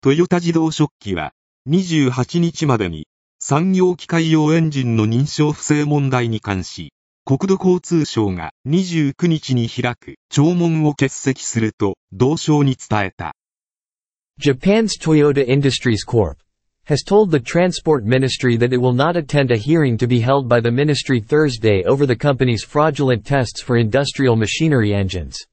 トヨタ自動織機は、28日までに、産業機械用エンジンの認証不正問題に関し、国土交通省が29日に開く聴聞を欠席すると同省に伝えた。 Japan's Toyota Industries Corp. has told the Transport Ministry that it will not attend a hearing to be held by the ministry Thursday over the company's fraudulent tests for industrial machinery engines.